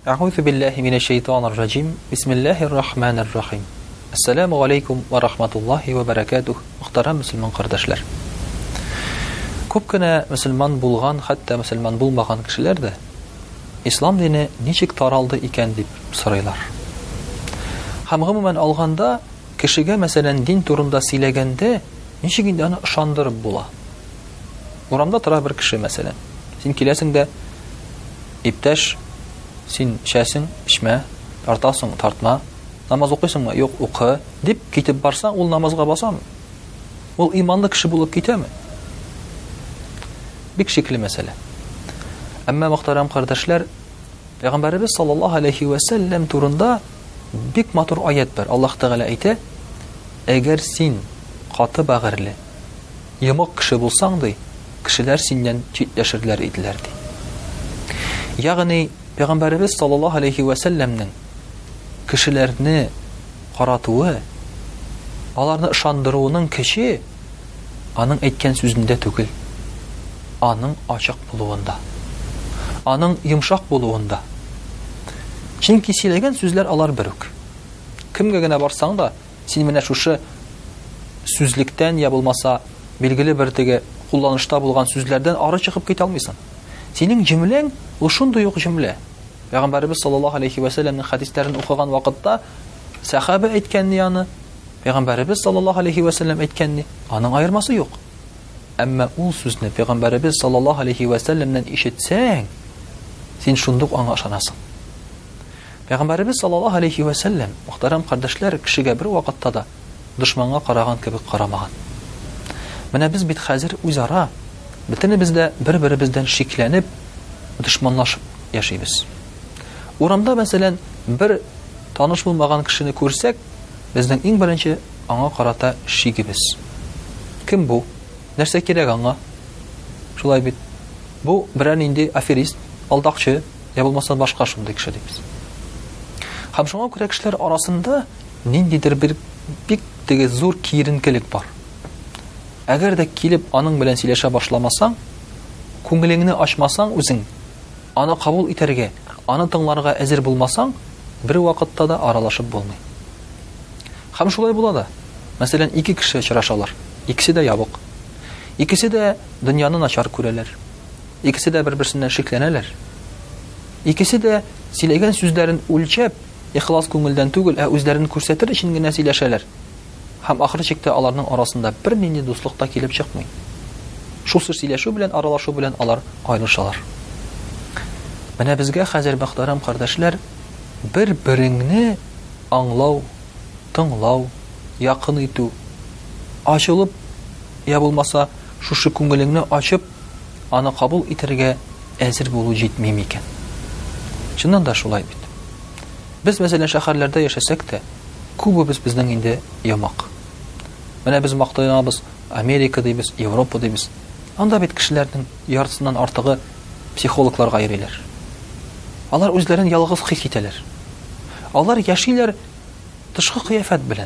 أعوذ بالله من الشيطان الرجيم بسم الله الرحمن الرحيم السلام عليكم ورحمة الله وبركاته Muhtaram Müslüman kardeşler. Күпкенә мөселман булган, хәтта мөселман булмаган кешеләр дә ислам дине ничек таралды икән дип сорыйлар. Һәм гомумән алганда кешегә мәсәлән дин турында сөйләгәндә ничек инде аны ышандырып була. Урамда тора бер кеше мәсәлән. Син киләсең дә иптәш син шәсең, ишмә, тартасың, тартма, намаз укыйсыңмы? Юк, укы дип китеп барсаң, ул намазга басамы? Ул иманлы кеше булып китәме? Бик шикле мәсьәлә. Әмма мөхтәрәм кардәшләр, Пәйгамбәрбез саллаллаһу алейхи ва саллям турында бик матур аят бар. Аллаһ Тәгалә әйтә: "Әгәр син каты бәгырьле, йомык кеше булсаң ди, кешеләр синнән читләшерләр иделәр" ди. Ягъни Пәйгамбәрбез саллаллаһу алейхи ва саллямның кешеләрне каратуы, аларны ышандыруының көче аның әйткән сүзендә түгел, аның ачык булуында, аның йомшак булуында. Чөнки сөйләгән сүзләр алар бер үк. Кемгә генә барсаң да, син менә шушы сүзлектән я булмаса билгеле бер теге кулланышта булган сүзләрдән ары чыгып китә алмыйсың. Синең җөмләң ул шундый ук җөмлә. Пәйгамбәрбез саллаллаһу алейхи ва саллямның хадисләрен укыган вакытта сахаба әйткәнне яны, Пәйгамбәрбез саллаллаһу алейхи ва саллям әйткәнне, аның аермасы юк. Әмма ул сүзне Пәйгамбәрбез саллаллаһу алейхи ва саллямнан ишетсәң, син шундук аңа ышанасың. Пәйгамбәрбез саллаллаһу алейхи ва саллям, мөхтәрәм кардәшләр, кешегә бер вакытта да дошманга караган кебек карамаган. Менә без бит хәзер үзара бөтенебез дә бер-беребездән шикләнеп, дошманлашып яшибез. Урамда мәсәлән бер таныш булмаган кешене күрсәк, безнең иң беренче аңа карата шигебез. Кем бу? Нәрсә кирәк аңа? Шулай бит. Бу берәр нинди аферист, алдакчы, я булмаса башка шундый кеше дибез. Һәм шуңа күрә кешеләр арасында ниндидер бер бик теге зур киеренкелек бар. Әгәр дә килеп аның белән сөйләшә башламасаң, күңелеңне ачмасаң үзең, аны кабул итәргә, аны тыңларга әзер булмасаң, бер вакытта да аралашып булмый. Һәм шулай була да. Мәсәлән, ике кеше очрашалар. Икесе дә ябык. Икесе дә дөньяны начар күрәләр. Икесе дә бер-берсеннән шикләнәләр. Икесе дә сөйләгән сүзләрен үлчәп, ихлас күңелдән түгел, үзләрен күрсәтер өчен генә сөйләшәләр. Һәм ахыр чиктә аларның арасында бер нинди дуслык та килеп чыкмый. Шул сөйләшү белән, аралашу белән алар аерылышалар. Менә безгә хәзер мөхтәрәм кардәшләр, бер-береңне аңлау, тыңлау, якын итү, ачылып, я булмаса шушы күңелеңне ачып, аны кабул итәргә әзер булу җитми микән? Чыннан да шулай бит. Без мәсәлән шәһәрләрдә яшәсәк тә, күбебез безнең инде ямак. Менә без мактаябыз, Америка дибез, Европа дибез. Анда бит кешеләрнең яртысыннан артыгы психологларга йөриләр. Алар үзләрен ялгыз хис итәләр. Алар яшиләр тышкы кыяфәт белән,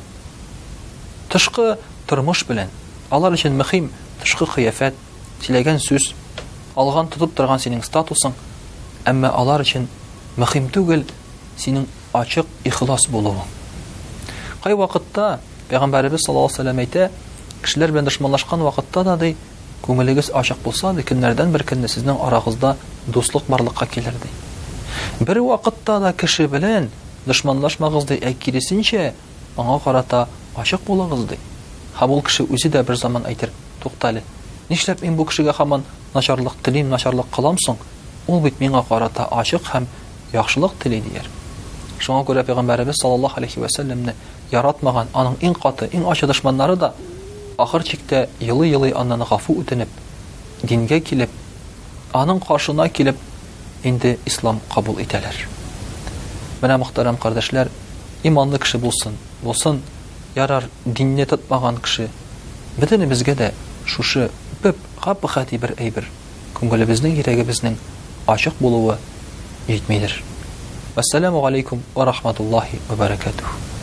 тышкы тормыш белән. Алар өчен мөһим тышкы кыяфәт, сөйләгән сүз, алган тотып торган синең статусың. Әмма алар өчен мөһим түгел синең ачык ихлас булуың. Кай вакытта Пәйгамбәрбез саллаллаһу алейхи ва саллям әйтә, кешеләр белән дошманлашкан вакытта да ди, күңелегез ачык булса, көннәрдән бер көнне сезнең арагызда дуслык барлыкка килер ди. Бер вакытта да кеше белән дошманлашмагыз ди, киресенчә аңа карата ачык булыгыз ди. Һәм ул кеше үзе дә бер заман әйтер, туктале, нишләп мин бу кешегә һаман начарлык телим, начарлык кылам соң? Ул бит миңа карата ачык һәм яхшылык тели дияр. Шуңа күрә Пәйгамбәрбез саллаллаһу алейхи ва саллямны яратмаган аның иң каты, иң ачы дошманнары да ахыр чиктә елый-елый аннан гафу үтенеп, дингә килеп, аның каршына килеп, инде ислам кабул итәләр. Менә мөхтәрәм кардәшләр, иманлы кеше булсын, ярар динне тотмаган кеше. Бөтенебезгә дә шушы бик гапхати бер әйбер, күңелебезнең, йөрәгебезнең ачык булуы җитмидер. Ассаламу алейкум ва рахматуллаһи ва баракатуһ.